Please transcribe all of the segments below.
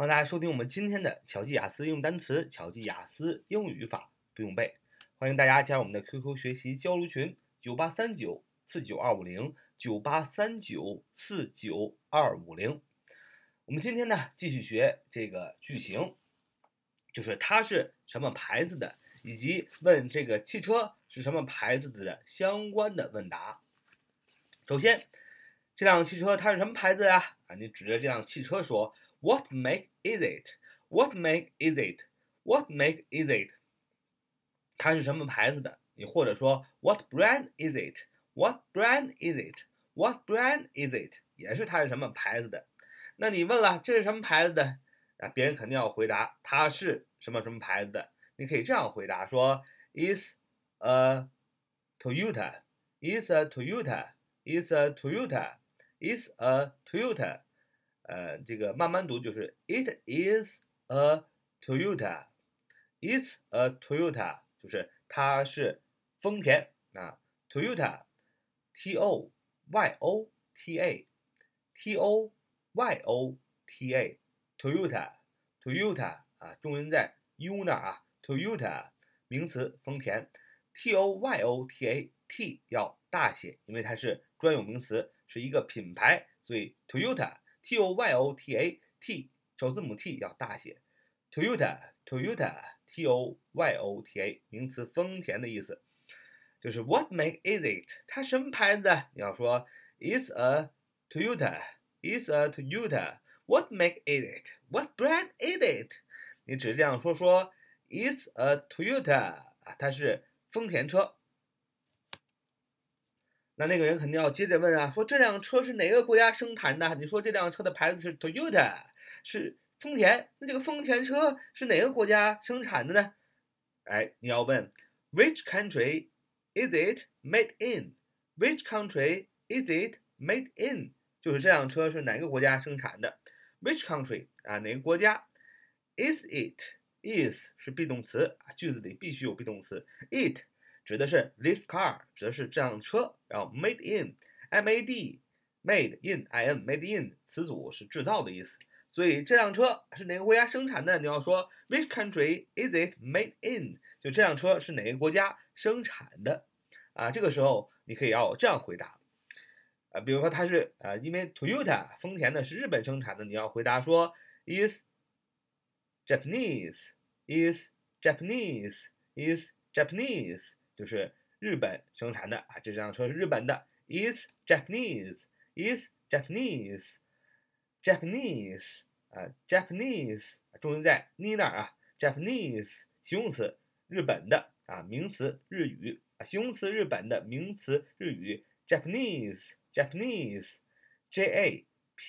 欢迎大家收听我们今天的巧记雅思用单词、巧记雅思英语语法不用背。欢迎大家加入我们的 QQ 学习交流群9839492509，9839492550。我们今天呢继续学这个句型，就是它是什么牌子的，以及问这个汽车是什么牌子的相关的问答。首先，这辆汽车它是什么牌子呀？你指着这辆汽车说 What make is it? What make is it? What make is it? 它是什么牌子的？你或者说 What brand is it? What brand is it? What brand is it? 也是它是什么牌子的。那你问了这是什么牌子的？别人肯定要回答它是什么什么牌子的。你可以这样回答说 Is a Toyota. Is a Toyota. Is a Toyota. Is a Toyota. 这个慢慢读就是 It is a Toyota. It's a Toyota. 就是它是丰田啊 ，Toyota, Toyota, Toyota, Toyota, Toyota 啊，重音在 U 那儿啊 ，Toyota 名词丰田 ，Toyota T 要大写，因为它是专有名词，是一个品牌，所以 Toyota Toyota T 首字母 T 要大写 ，Toyota Toyota 名词丰田的意思，就是 What make is it？ 它什么牌子的？你要说 It's a Toyota. It's a Toyota. What make is it? What brand is it? 你只是这样说 It's a Toyota 啊，它是丰田车。那个人肯定要接着问啊，说这辆车是哪个国家生产的？你说这辆车的牌子是 Toyota， 是丰田，那这个丰田车是哪个国家生产的呢？你要问 Which country is it made in? Which country is it made in? 就是这辆车是哪个国家生产的 ？Which country 啊，哪个国家 ？Is it is 是 be 动词啊，句子里必须有 be 动词 ，it 指的是 this car， 指的是这辆车，然后 made in made made in made in 词组是制造的意思，所以这辆车是哪个国家生产的？你要说 Which country is it made in？ 就这辆车是哪个国家生产的？这个时候你可以要这样回答。比如说它是因为 Toyota 丰田呢是日本生产的，你要回答说 is Japanese, is Japanese, is Japanese， 就是日本生产的这辆车是日本的 is Japanese, is Japanese, Japanese Japanese 重音在你那儿Japanese 形容词日本的名词日语形容词日本的名词日语 Japanese Japanese Japanese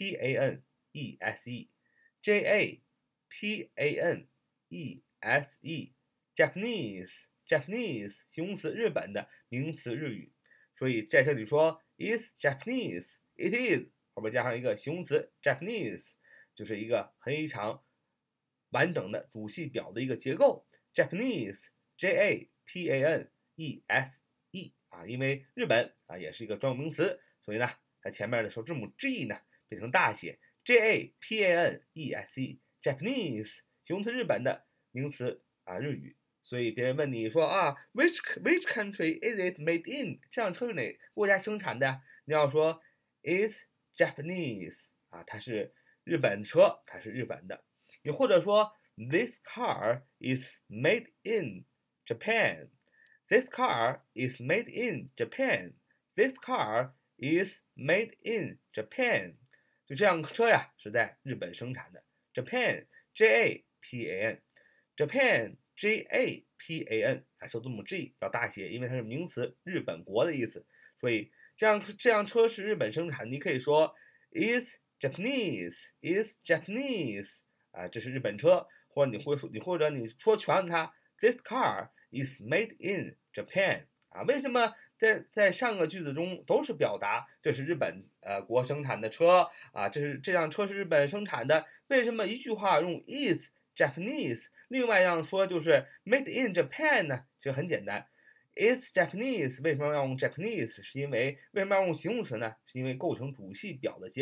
Japanese Japanese 形容词日本的名词日语，所以在这里说 is Japanese it is 后边加上一个形容词 Japanese， 就是一个非常完整的主系表的一个结构 Japanese Japanese 因为日本也是一个专有名词，所以呢在前面的首字母 G 呢变成大写 Japanese Japanese 形容词日本的名词日语，所以别人问你说which country is it made in？ 这辆车是哪个国家生产的？你要说 is Japanese 它是日本车，它是日本的。你或者说 this car is made in Japan. This car is made in Japan. This car is made in Japan. 就这辆车呀是在日本生产的。Japan Japan Japan Japan 首字母 G 要大写，因为它是名词日本国的意思，所以这辆车是日本生产，你可以说 is Japanese is Japanese 这是日本车，或者你说全它 this car is made in Japan 为什么在上个句子中都是表达这是日本国生产的车这辆车是日本生产的，为什么一句话用 is Japanese， 另外一样说就是 made in Japan 呢？其实很简单 is Japanese 为什么要用 Japanese？ 是因为为什么要用形容词呢？是因为构成主系表的结构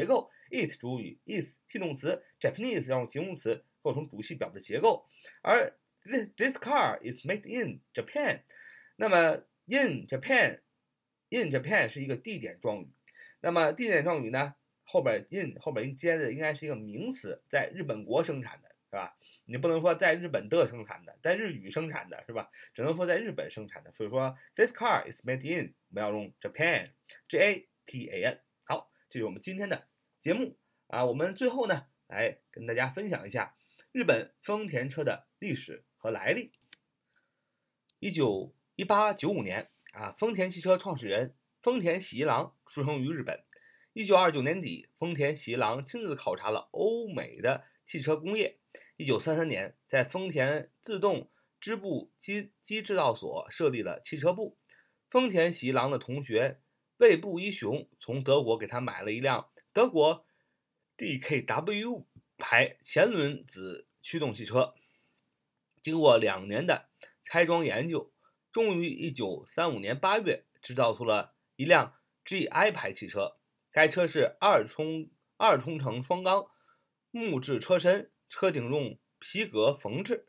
it 主语 is 系动词 Japanese 让形容词构成主系表的结构，而 this car is made in Japan。那么 in Japan 是一个地点状语，那么地点状语呢，后边接的应该是一个名词，在日本国生产的，是吧？你不能说在日本的生产的，在日语生产的，是吧？只能说在日本生产的。所以说 this car is made in， 我们要用 Japan。好，这是我们今天的节目啊。我们最后呢，来跟大家分享一下日本丰田车的历史和来历。1895年啊，丰田汽车创始人丰田喜一郎出生于日本。1929年底，丰田喜一郎亲自考察了欧美的汽车工业。1933年，在丰田自动织布机制造所设立了汽车部。丰田喜一郎的同学卫部一雄从德国给他买了一辆德国 DKW 牌前轮子驱动汽车。经过2年的拆装研究，终于1935年8月制造出了一辆 GI 牌汽车。该车是二冲程双缸木质车身，车顶用皮革缝制。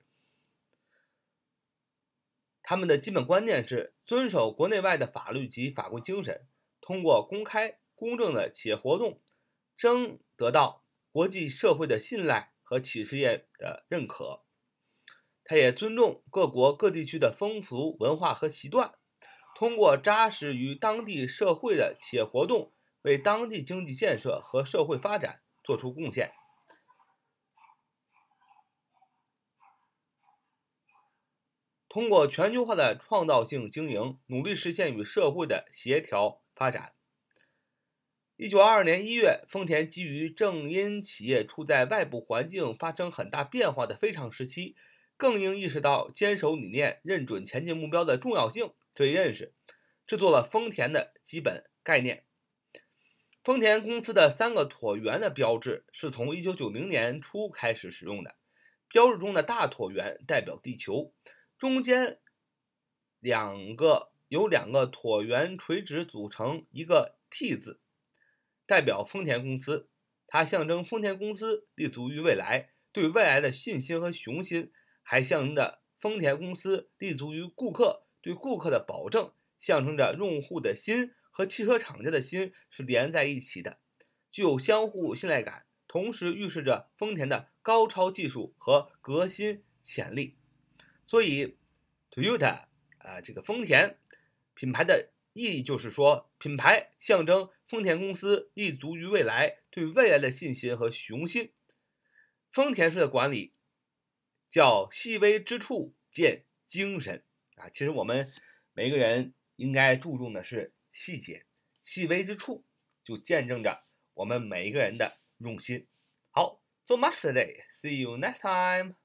他们的基本观念是遵守国内外的法律及法规精神，通过公开公正的企业活动，争得到国际社会的信赖和企事业的认可。他也尊重各国各地区的风俗文化和习惯，通过扎实于当地社会的企业活动，为当地经济建设和社会发展做出贡献。通过全球化的创造性经营，努力实现与社会的协调发展。1922年1月，丰田基于正因企业处在外部环境发生很大变化的非常时期，更应意识到坚守理念、认准前进目标的重要性，这一认识制作了丰田的基本概念。丰田公司的3个椭圆的标志是从1990年初开始使用的。标志中的大椭圆代表地球，中间由两个椭圆垂直组成一个 T 字，代表丰田公司。它象征丰田公司立足于未来，对未来的信心和雄心，还象征着丰田公司立足于顾客，对顾客的保证，象征着用户的心和汽车厂家的心是连在一起的，具有相互信赖感，同时预示着丰田的高超技术和革新潜力。所以 Toyota 这个丰田品牌的意义就是说，品牌象征丰田公司立足于未来，对未来的信心和雄心。丰田式的管理叫细微之处见精神啊，其实我们每个人应该注重的是细节，细微之处就见证着我们每一个人的用心。好 ，so much for today. See you next time.